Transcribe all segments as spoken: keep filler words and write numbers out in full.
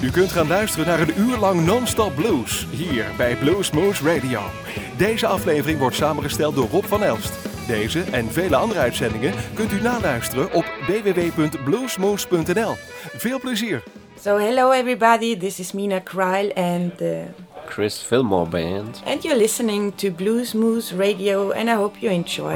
U kunt gaan luisteren naar een uur lang non-stop blues, hier bij Bluesmoose Radio. Deze aflevering wordt samengesteld door Rob van Elst. Deze en vele andere uitzendingen kunt u naluisteren op w w w punt bluesmoose punt n l. Veel plezier! So hello everybody, this is Mina Kreil and uh, Chris Fillmore Band. And you're listening to Bluesmoose Radio and I hope you enjoy.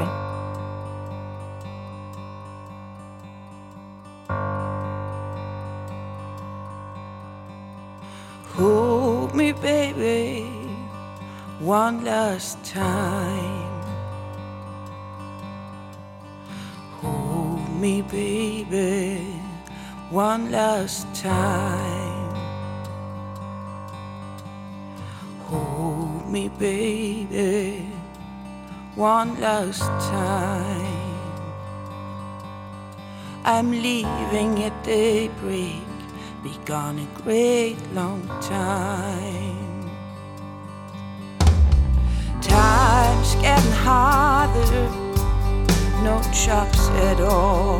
Hold me baby, one last time. Hold me baby, one last time. Hold me baby, one last time. I'm leaving at daybreak, be gone a great long time. Time's getting harder, no chops at all.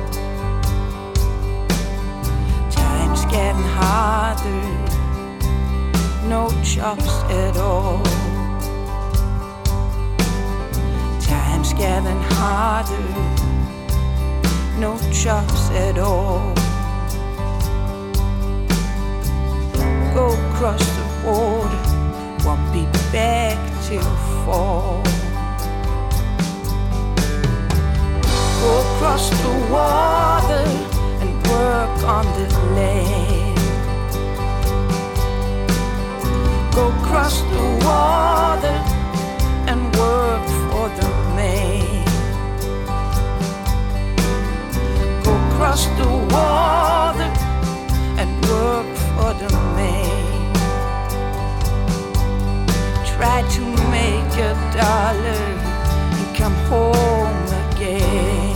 Time's getting harder, no chops at all. Time's getting harder, no chops at all. Go across the border, won't be back till fall. Go across the water and work on the land. Go across the water and work for the man. Go across the water and work for the man. Try to make a dollar and come home again.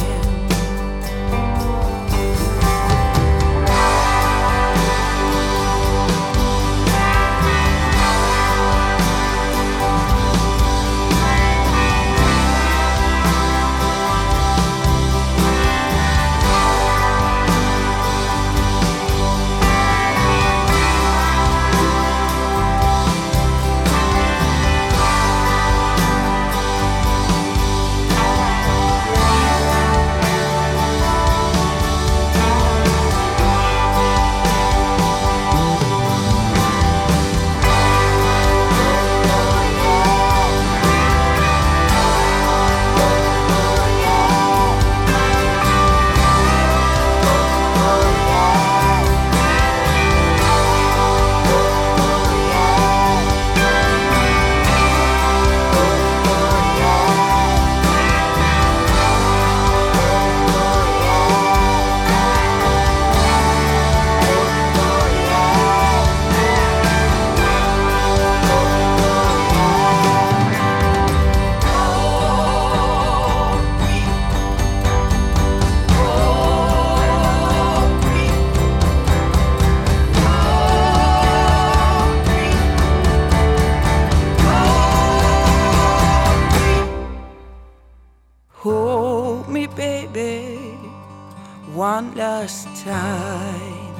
One last time.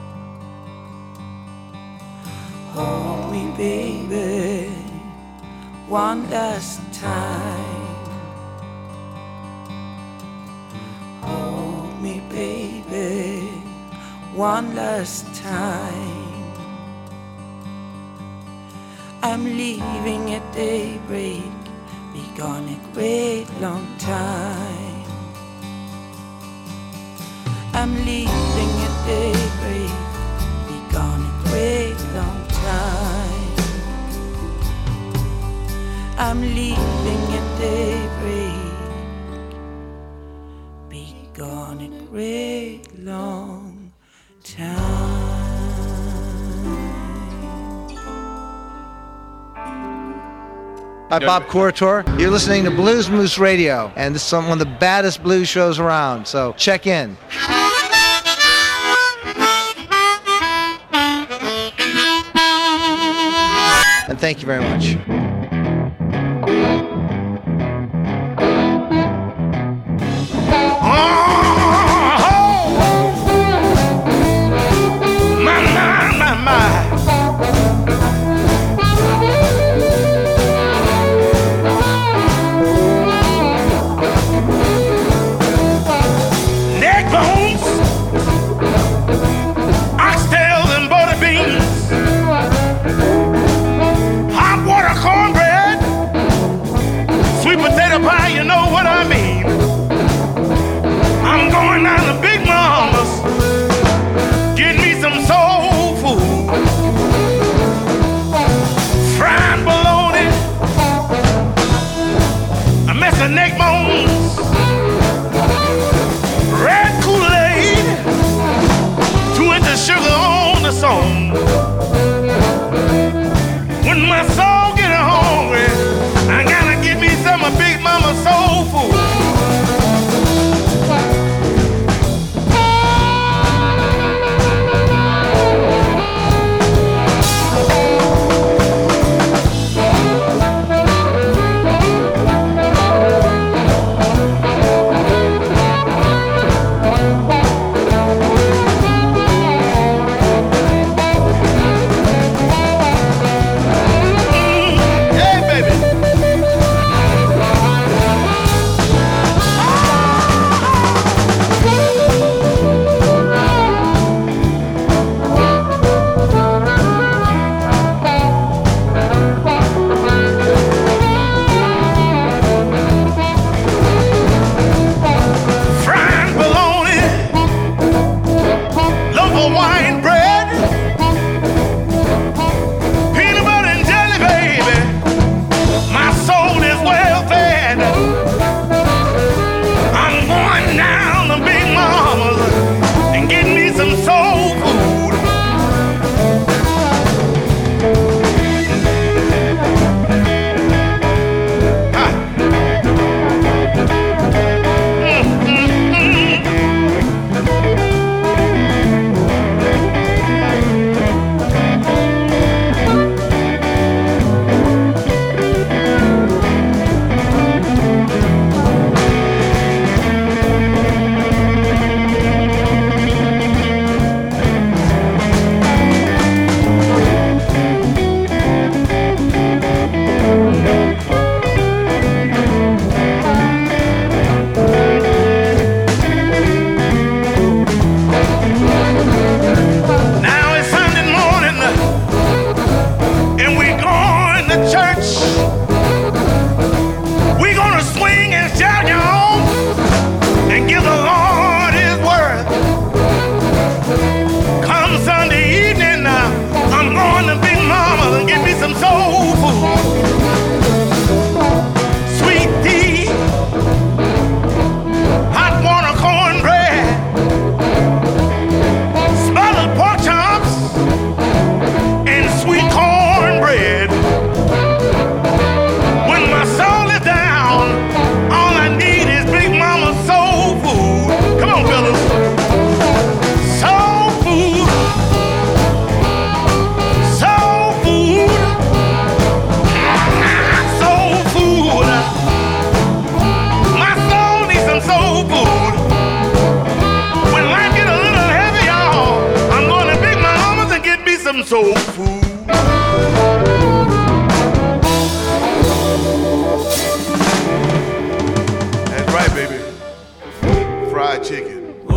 Hold me baby, one last time. Hold me baby, one last time. I'm leaving at daybreak, be gone a great long time. I'm leaving at daybreak, be gone a great long time. I'm leaving at daybreak, be gone a great long time. Hi, Bob Corritore. You're listening to Bluesmoose Radio, and this is one of the baddest blues shows around, so check in. And thank you very much. Oh, my, my, my. soul food. That's right, baby. Fried chicken.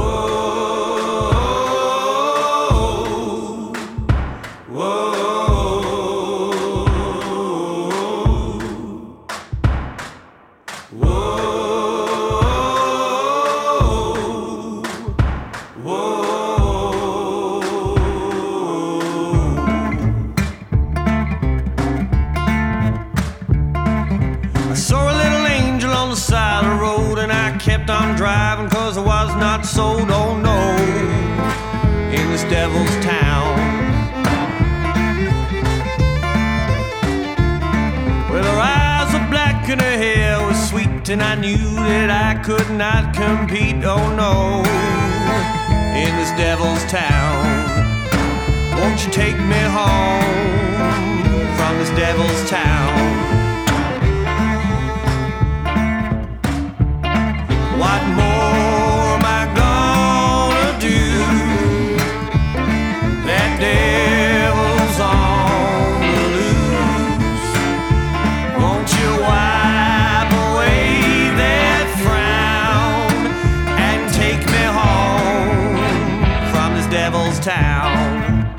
On driving cause I was not sold, oh no, in this devil's town. Well, her eyes were black and her hair was sweet, and I knew that I could not compete, oh no, in this devil's town. Won't you take me home from this devil's town? What more am I gonna do? That devil's on the loose. Won't you wipe away that frown and take me home from this devil's town?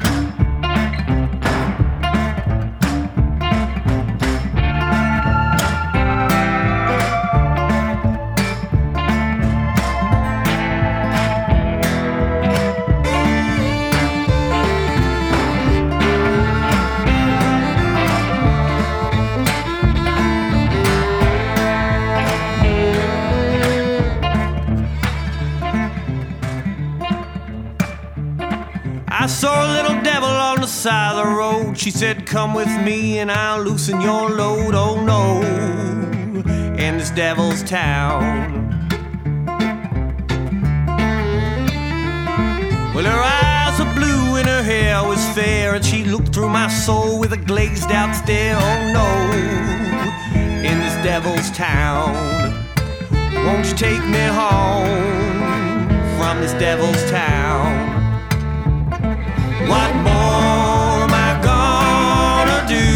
I saw a little devil on the side of the road. She said, come with me and I'll loosen your load. Oh no, in this devil's town. Well, her eyes were blue and her hair was fair, and she looked through my soul with a glazed out stare. Oh no, in this devil's town. Won't you take me home from this devil's town? What more am I gonna do?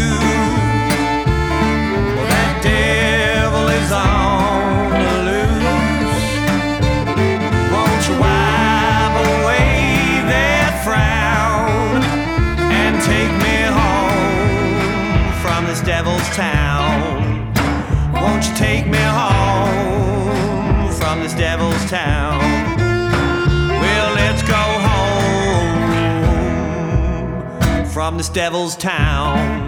Well, that devil is on the loose. Won't you wipe away that frown and take me home from this devil's town? Won't you take me home from this devil's town? Well, let's go home from this devil's town.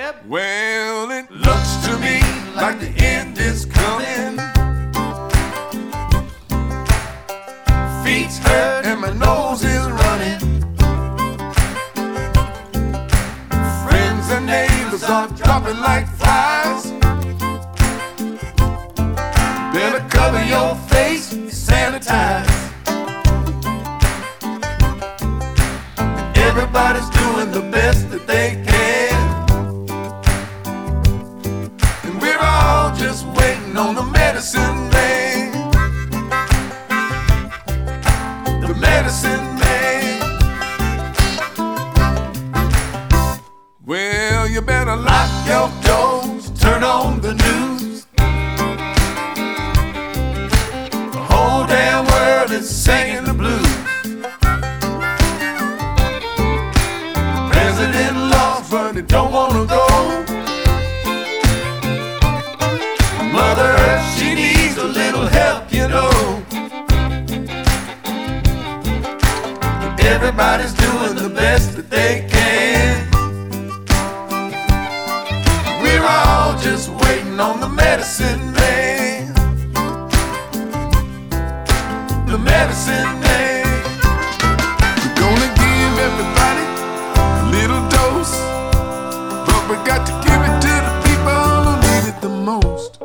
Yep. Well, it looks to me like the end is coming. Feet's hurt and my nose is running. Friends and neighbors are dropping like flies. Better cover your face, sanitize. Everybody's doing the best that they can. And we're all just waiting on the medicine man. The medicine man. Well, you better lock your doors, turn on the news. The whole damn world is singing the blues. President lost, but he don't wanna go. Mother Earth, she needs a little help, you know. Everybody's doing the best that they can. We're all just waiting on the medicine man. The medicine man. We're gonna give everybody a little dose, but we got to give it to the people who need it the most.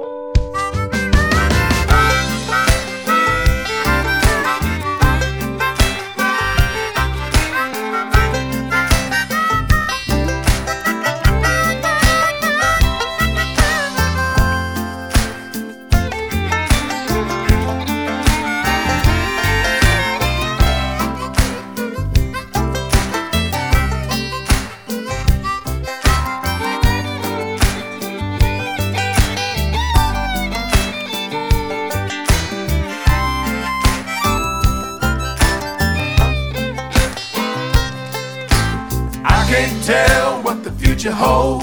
Can't tell what the future holds.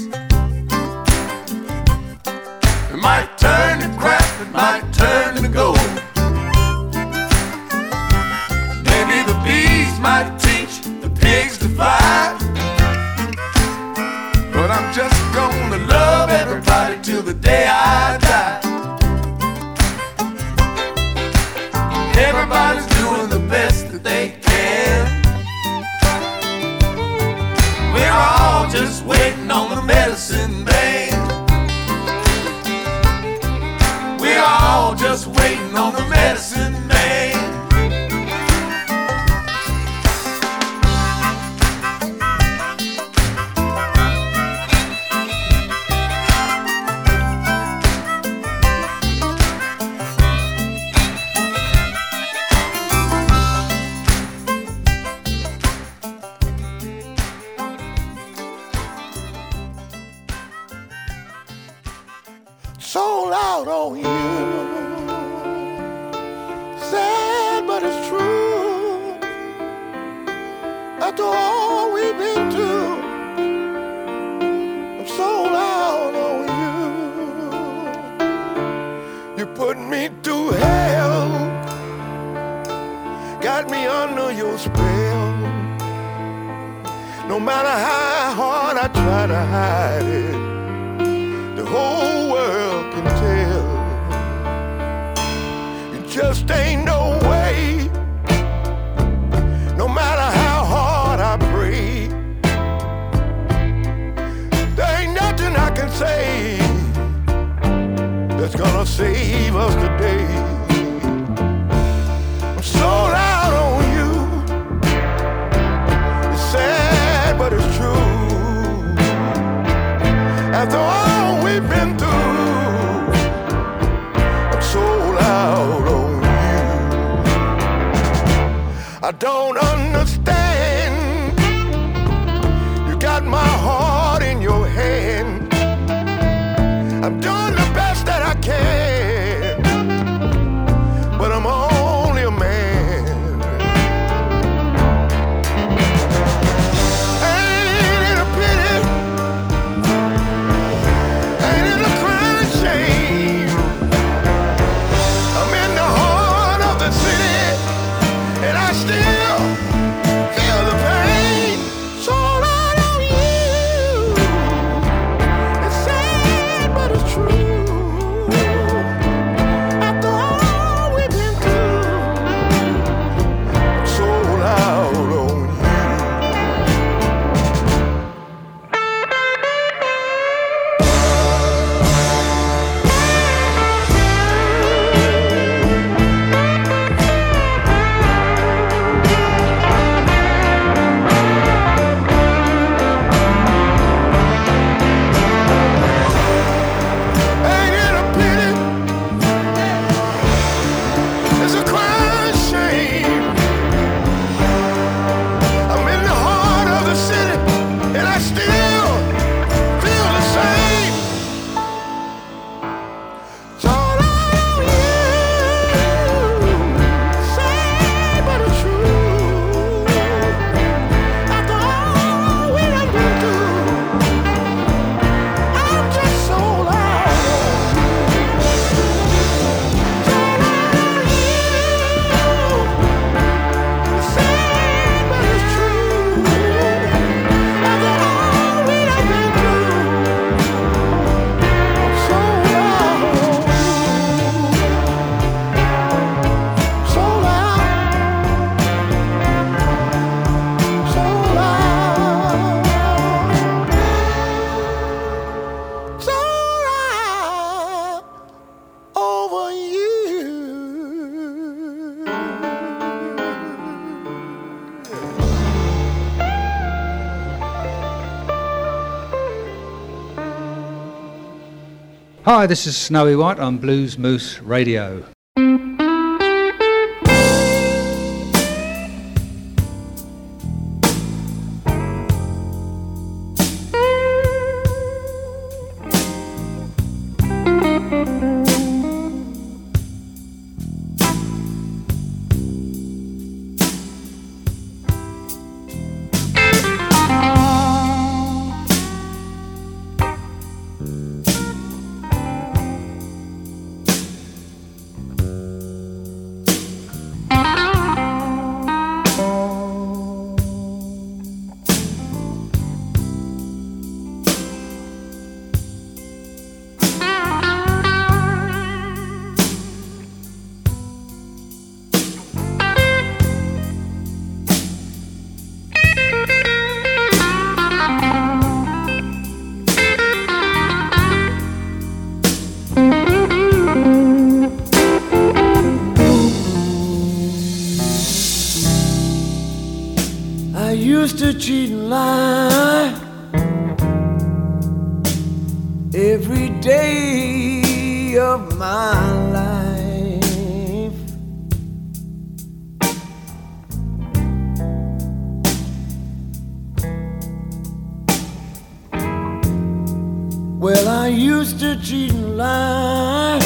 It might turn to crap, it might turn to gold. Maybe the bees might teach the pigs to fly. But I'm just gonna love everybody till the day I die. Everybody's doing the best that they can. We're all just waiting on the medicine man. We're all just waiting on the medicine man. Sold out on you. Sad, but it's true. After all we've been through, I'm sold out on you. You put me through hell, got me under your spell. No matter how hard I try to hide it, the whole world can tell. It just ain't no way. No matter how hard I pray, there ain't nothing I can say that's gonna save us today. I'm sold out on you. It's sad, but it's true. After all we've been through, I'm sold out on you. I don't understand. You got my heart in your hand. I'm doing the best that I can, but I'm only a man. Ain't it a pity? Ain't it a crying shame? I'm in the heart of the city, and I still Hi, this is Snowy White on Blues Moose Radio. Cheat and lie every day of my life. Well, I used to cheat and lie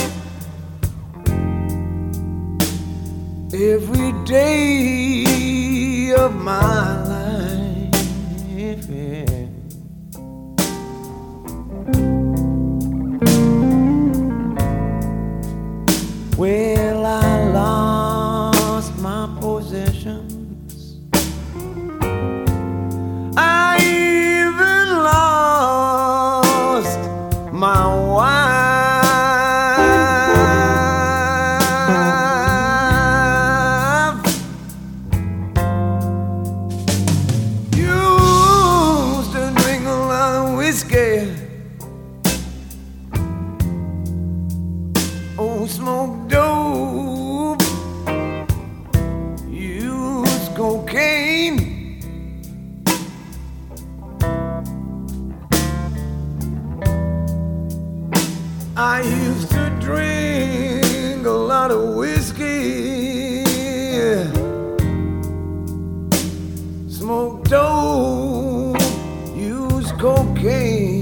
every day of my life. Well, I lost my possessions. I even lost my wife. Used to drink a lot of whiskey. Oh, smoke dope, use cocaine. I used to drink a lot of whiskey, smoke dope, use cocaine.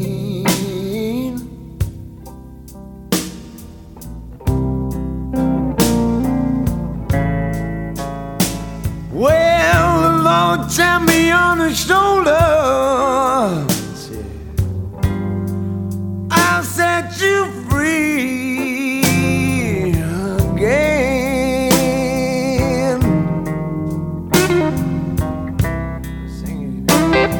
Well, the Lord tapped me on the shoulder, I'll set you free again. Sing it.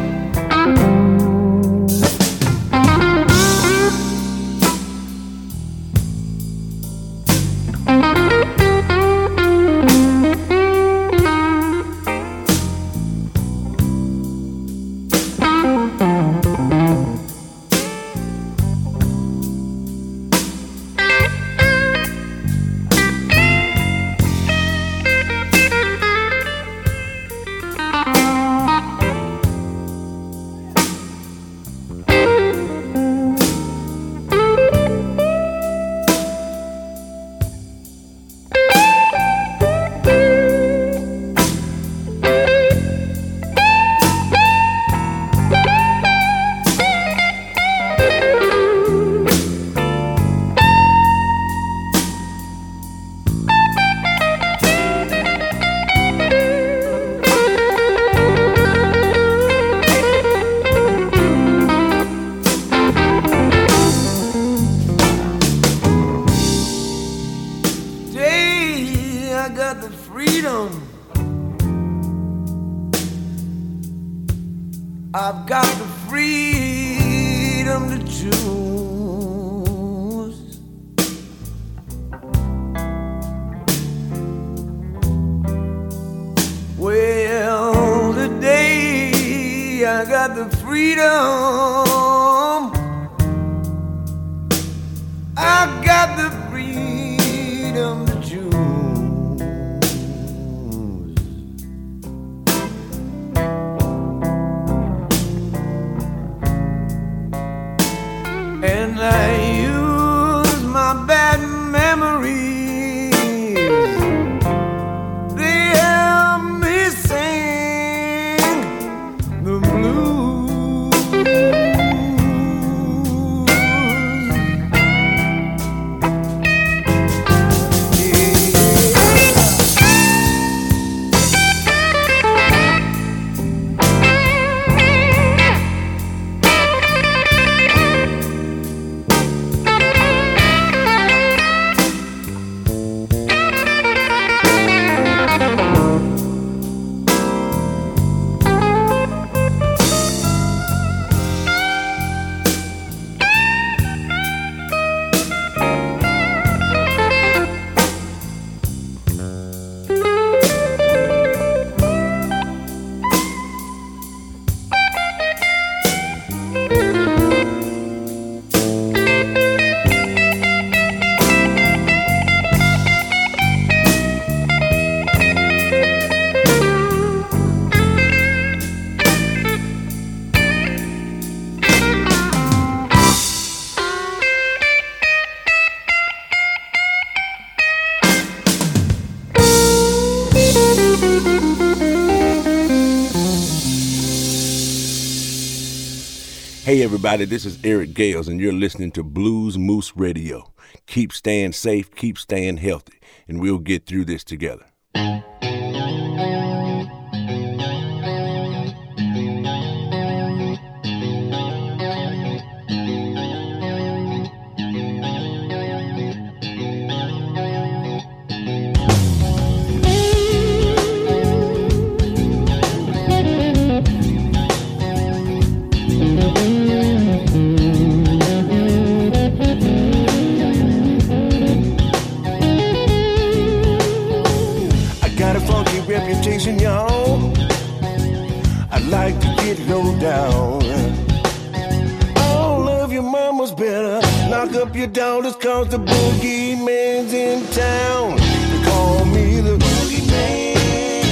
I've got the freedom to choose. Well, today I got the freedom. I got the freedom to choose. And I Hey everybody, this is Eric Gales and you're listening to Blues Moose Radio. Keep staying safe, keep staying healthy, and we'll get through this together. Reputation, y'all. I'd like to get low down. All of your mamas better knock up your daughters, cause the boogeyman's in town. They call me the boogeyman.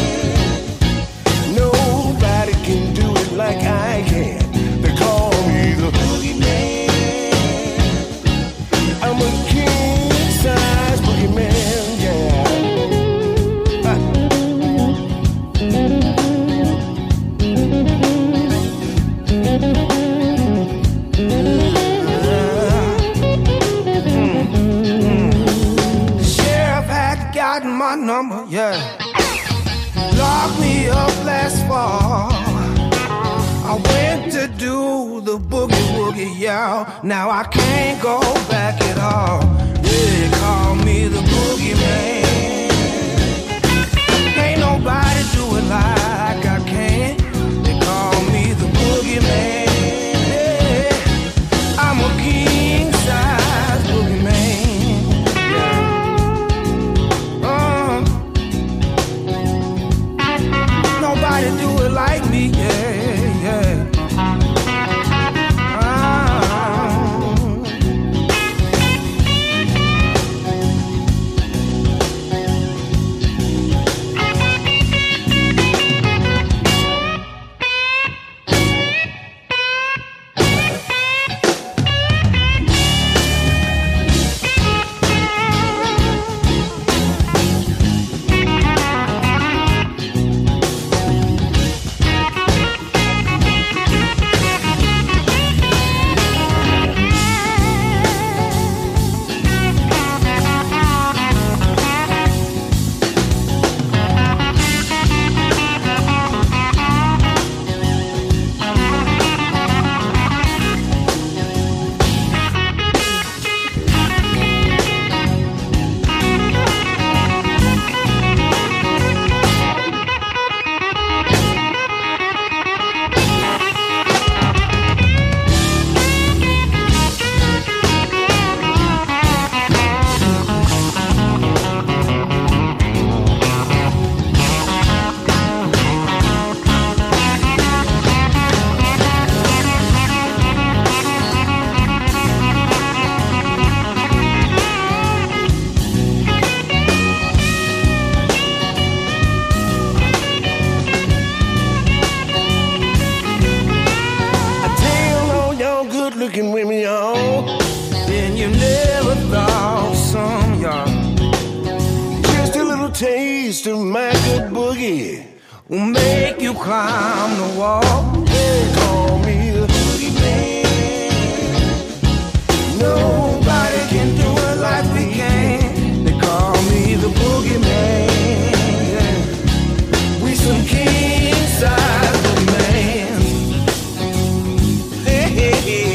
Nobody can do it like I can. They call me the boogeyman. I'm a king-size boogeyman, yeah. My number, yeah. Locked me up last fall. I went to do the boogie woogie, y'all. Now I can't go back at all. They call me the boogeyman. Ain't nobody do it like I can. They call me the boogeyman. Yeah. I'm a king size boogeyman. Nobody do it like me, yeah, yeah. Looking women, y'all, then you never thought some, y'all. Just a little taste of my good boogie will make you climb the wall. They call me the boogeyman. Nobody can do it like we can. They call me the boogeyman. We some king-size boogeyman. Hey, hey, hey.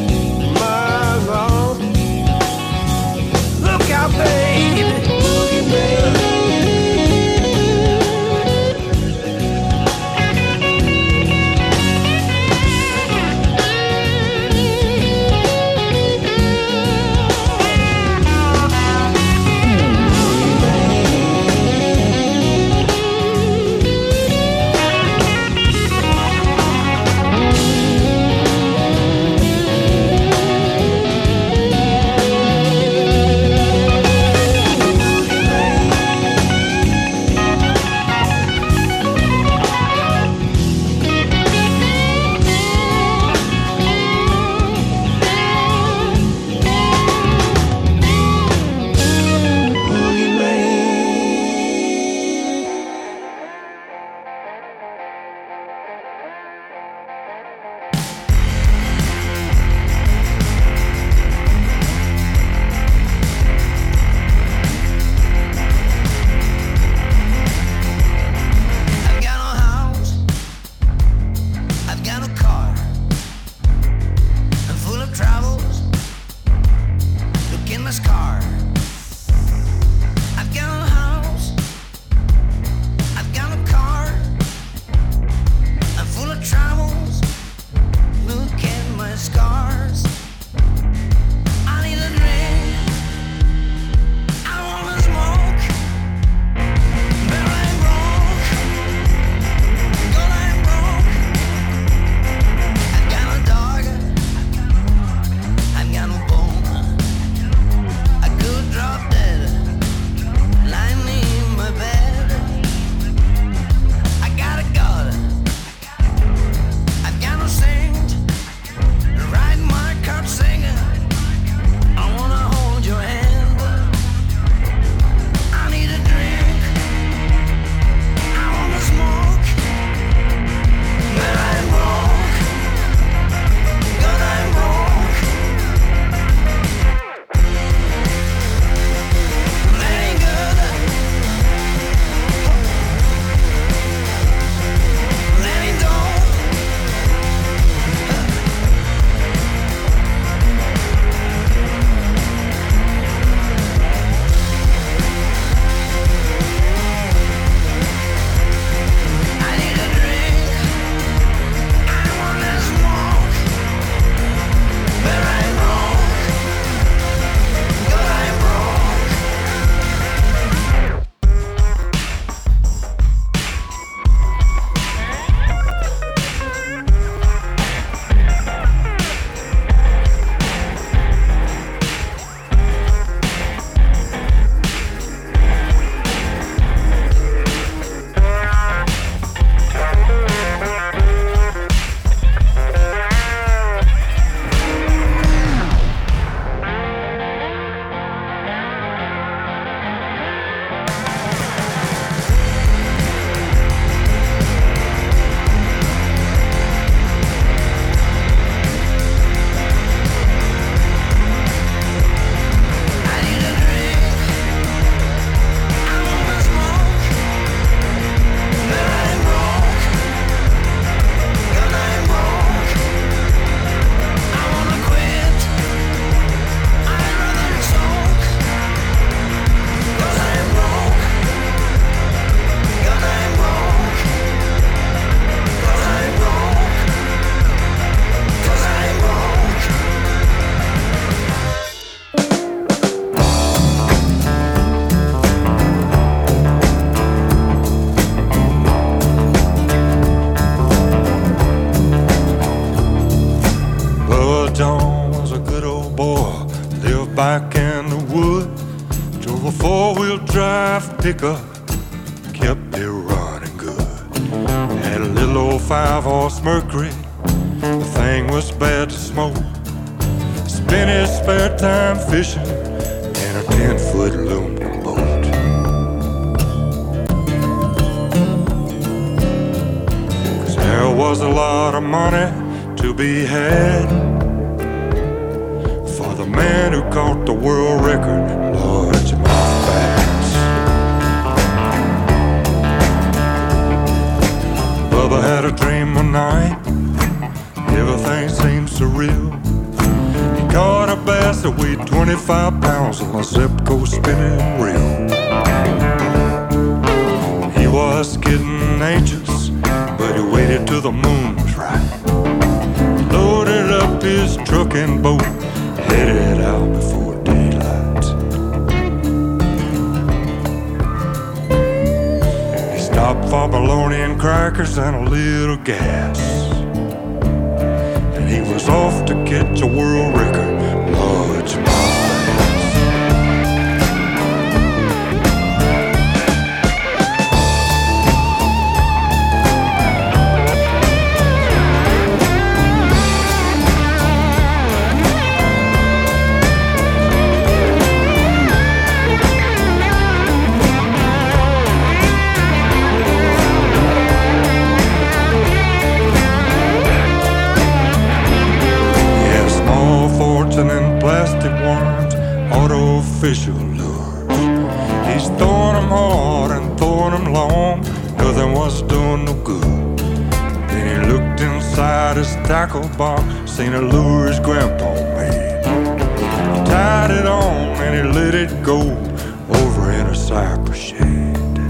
Baby, boogeyman. five pickup kept it running good. Had a little old five-horse Mercury, the thing was bad to smoke. Spent his spare time fishing in a ten-foot aluminum boat. Cause there was a lot of money to be had for the man who caught the world record, largemouth bass. Bubba had a dream one night, everything seemed surreal. He caught a bass that weighed twenty-five pounds on a Zepco spinning reel. He was getting anxious, but he waited till the moon was right. Loaded up his truck and boat, headed out before daylight. He stopped for bologna and crackers and a little gas, and he was off to catch a world record, largemouth bass. And plastic worms, artificial lures. He's throwing them hard and throwing them long, nothing was doing no good. Then he looked inside his tackle box, seen a lure his grandpa made. He tied it on and he let it go over in a cypress shade.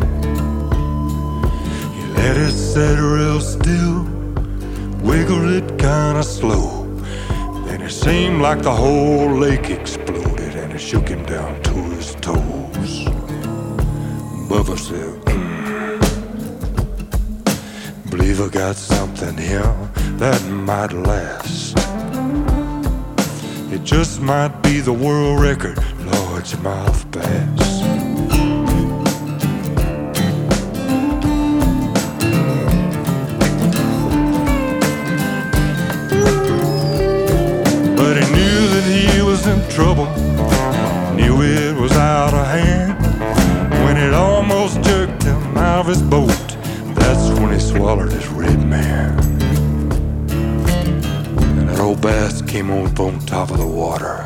He let it set real still, wiggled it kinda slow. It seemed like the whole lake exploded and it shook him down to his toes. Bubba said, mm, believe I got something here that might last. It just might be the world record, largemouth bass. In trouble, knew it was out of hand. When it almost jerked him out of his boat, that's when he swallowed his red man. And that old bass came up on top of the water,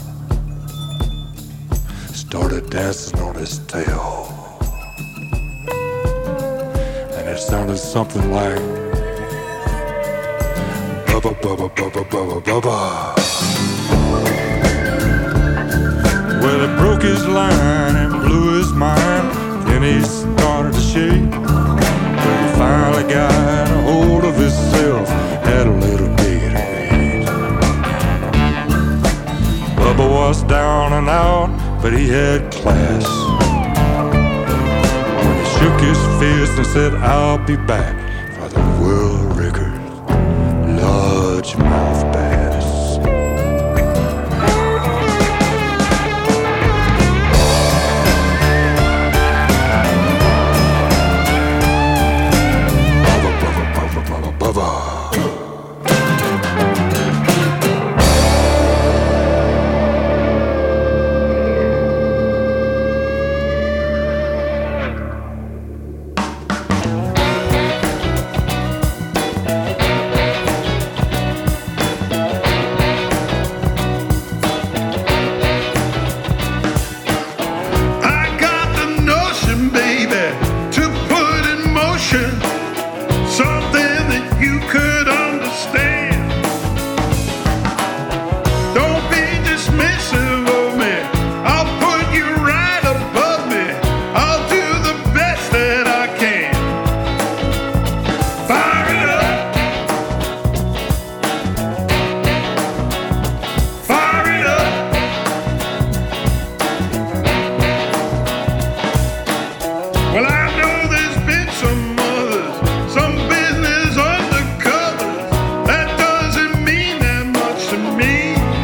started dancing on his tail, and it sounded something like bubba bubba bubba bubba bubba. Well, it broke his line and blew his mind. Then he started to shake, but he finally got a hold of himself, had a little Gatorade. Bubba was down and out, but he had class. When he shook his fist and said, I'll be back for the world record, largemouth bass.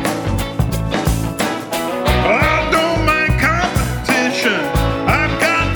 I've got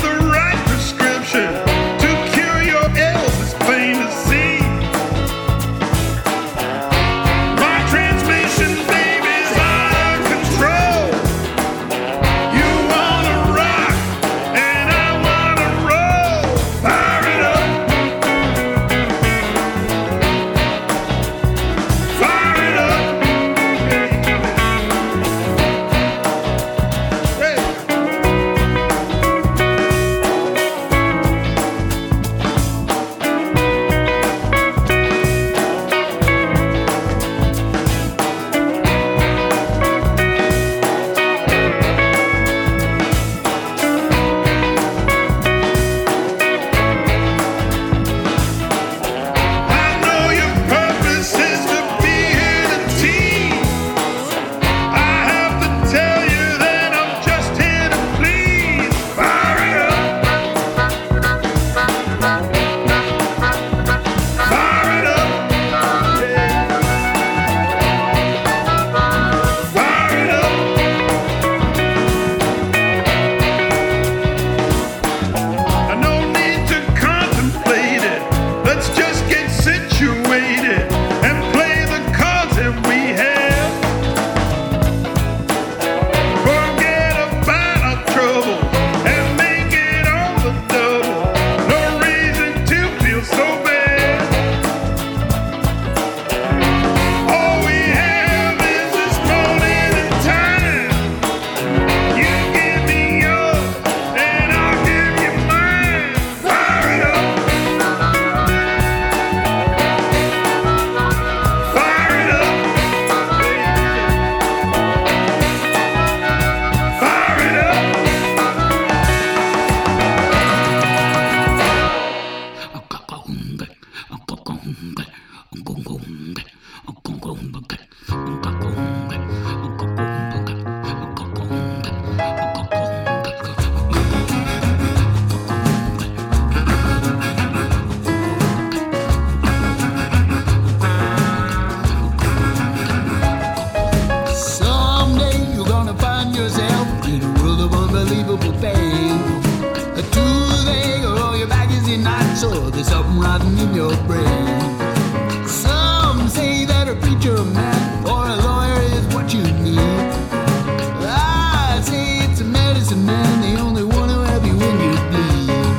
something rotten in your brain. Some say that a preacher man or a lawyer is what you need. I say it's a medicine man, the only one who help you when you bleed.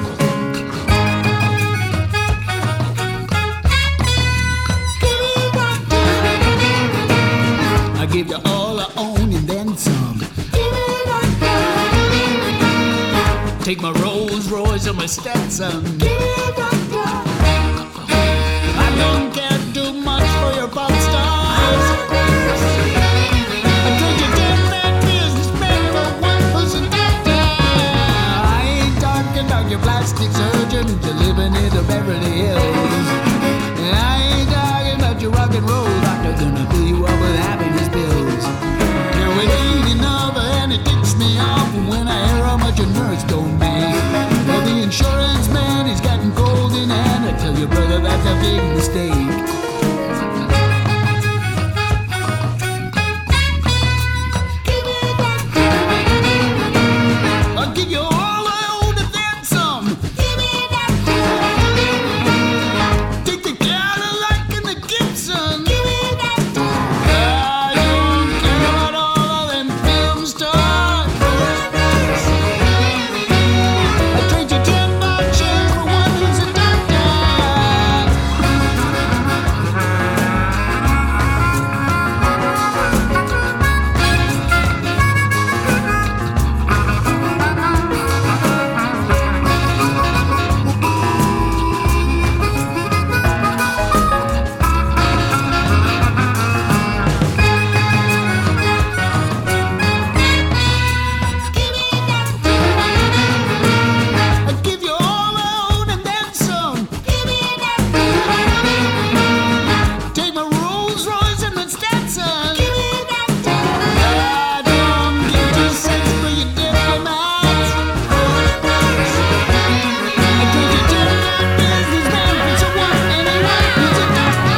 I give you all I own and then some. Take my Rolls Royce and my Stetson. I don't care too much for your pop stars. I trade you ten bad businessmen for one pussy doctor. I ain't talking about your plastic surgeon you're living in the Beverly Hills. I ain't talking about your rock and roll doctor gonna fill you up with happiness pills. Now it ain't enough and it ticks me off when I hear how much a nurse don't make. Well, the insurance man is getting cold in hand. I tell you, brother, that's a big mistake. I'll give you all I own and then some. Take the Cadillac and the Gibson. I don't care about all of them film stars. I trade you ten boxes for one who's a doctor. I give you all I own and then some. Take my Rolls Royce and my Stetson. I don't give two cents for your diplomats. I trade you ten bad businessmen for someone anyone who's a doctor.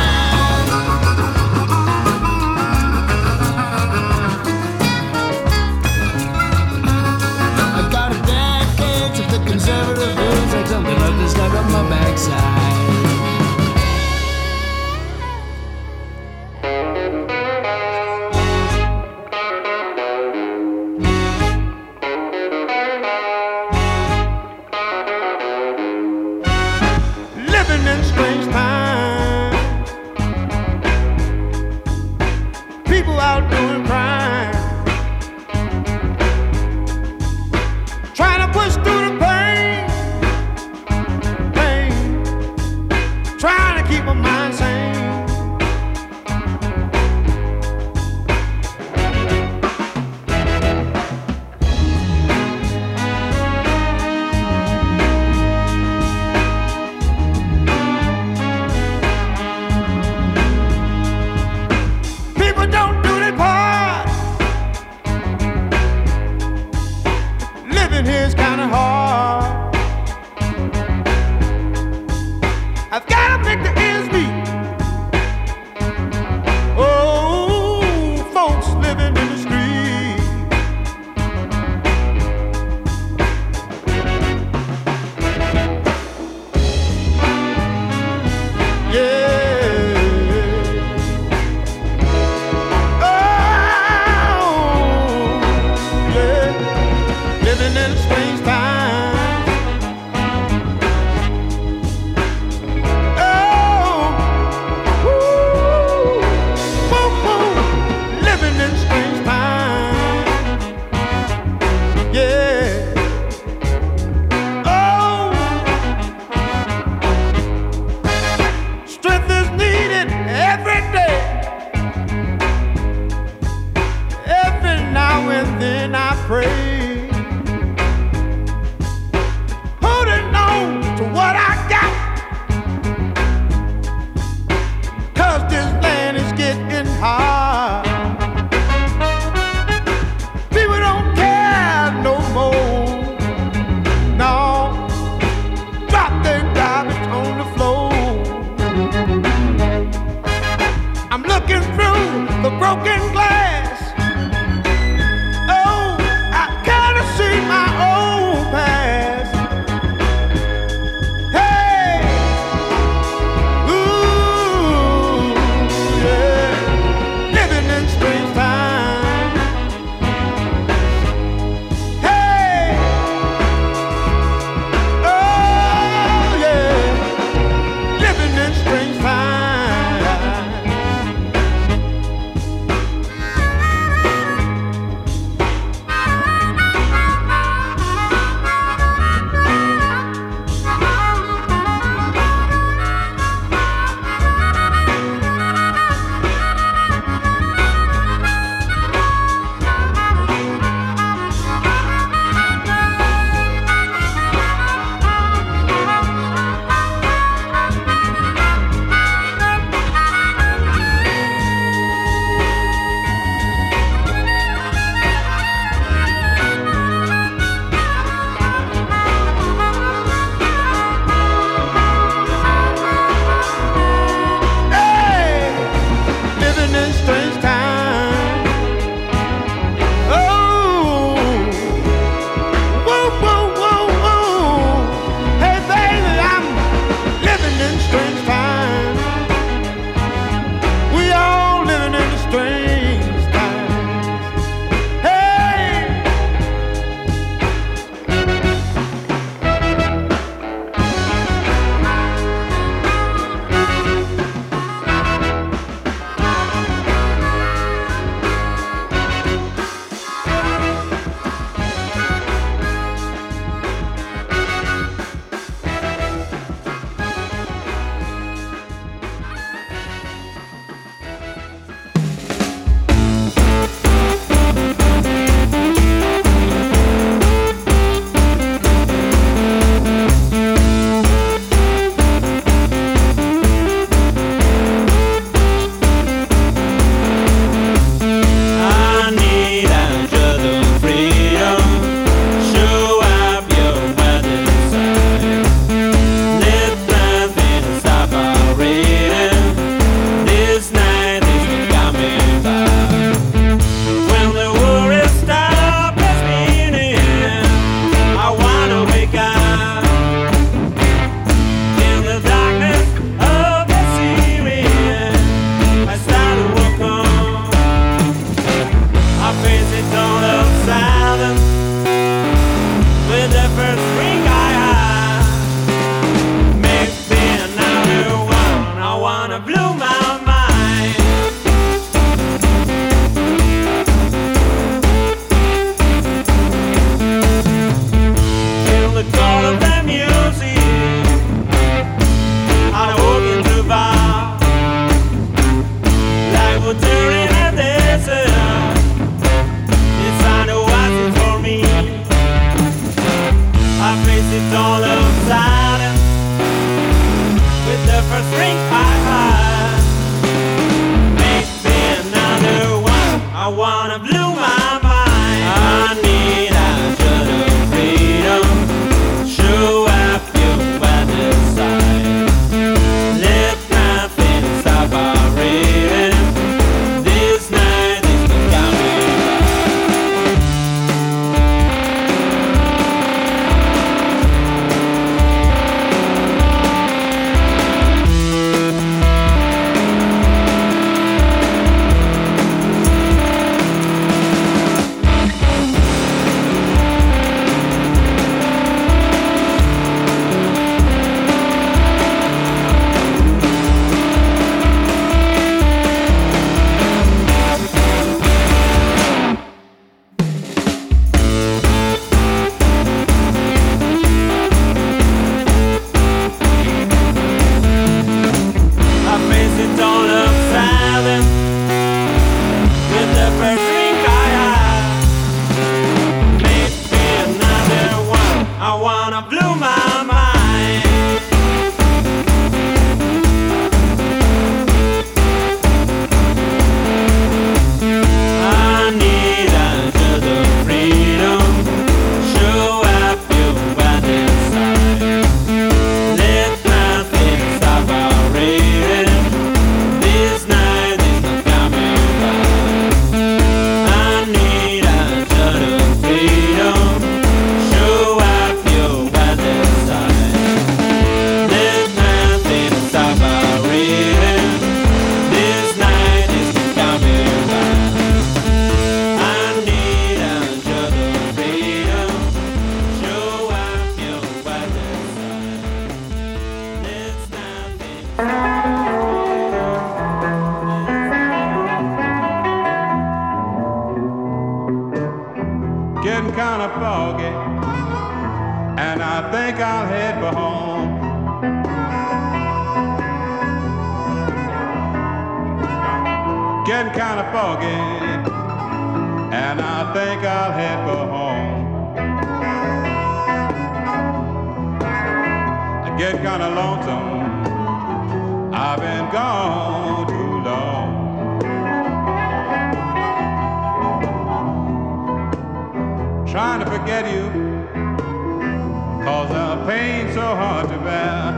I got a bad case of the conservative blues, like something like this stuck up my backside. Living in strange times, people out doing crime, trying to push through the pain, pain, trying to keep my mind sane. People don't do their part. Living here's kinda hard. I've gotta make the ends meet. Oh, folks living in the street. Yeah. Oh, yeah. Living in a strange time. Oh, the first drink I had. Make me another one. I wanna blow my mind. I need a shot of freedom. Show up your weather side. Let nothing stop our reading. This night is coming back. I face it all of seven with the first drink I had. Make me another one. I wanna blow my mind. I need a shot of freedom. Show up your weather side. Let nothing stop our reading. This night is not coming back. I need a shot of freedom. Show up your weather side. Let nothing stop our reading. This night is not coming back. I need a shot of freedom. Show up your weather side. Let's nothing. Getting kind of foggy, and I think I'll head for home. Getting kind of foggy, and I think I'll head for home. I get kind of lonesome. I've been gone too long. Trying to forget you, cause the pain's so hard to bear.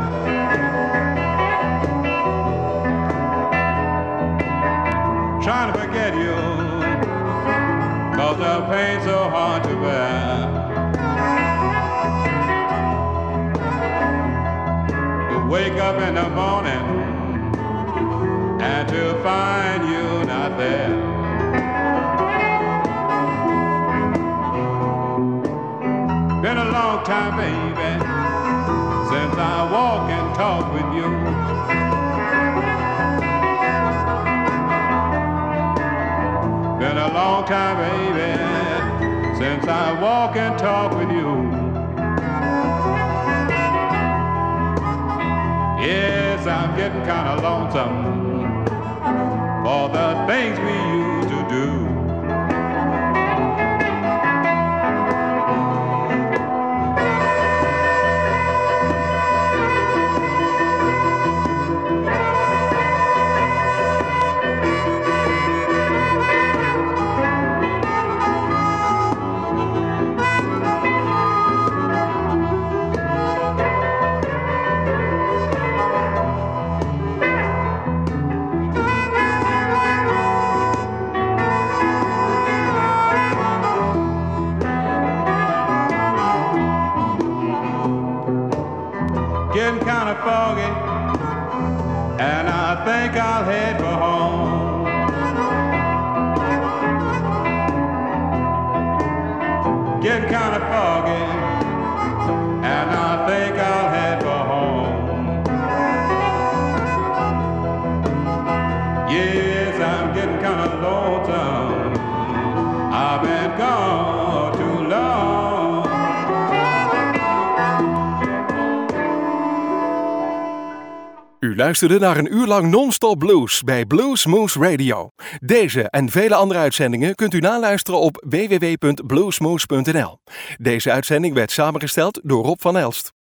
Trying to forget you, cause the pain's so hard to bear. To wake up in the morning and to find you not there. Been a long time, baby, since I walk and talk with you. Been a long time, baby, since I walk and talk with you. Yes, I'm getting kind of lonesome for the things we used to do. Getting kind of foggy, and I think I'll head for home. Getting kind of foggy, and I think I'll head for home. Yes, I'm getting kind of lonesome. I've been gone too long. U luisterde naar een uur lang non-stop blues bij Blues Moose Radio. Deze en vele andere uitzendingen kunt u naluisteren op w w w punt bluesmoose punt n l. Deze uitzending werd samengesteld door Rob van Elst.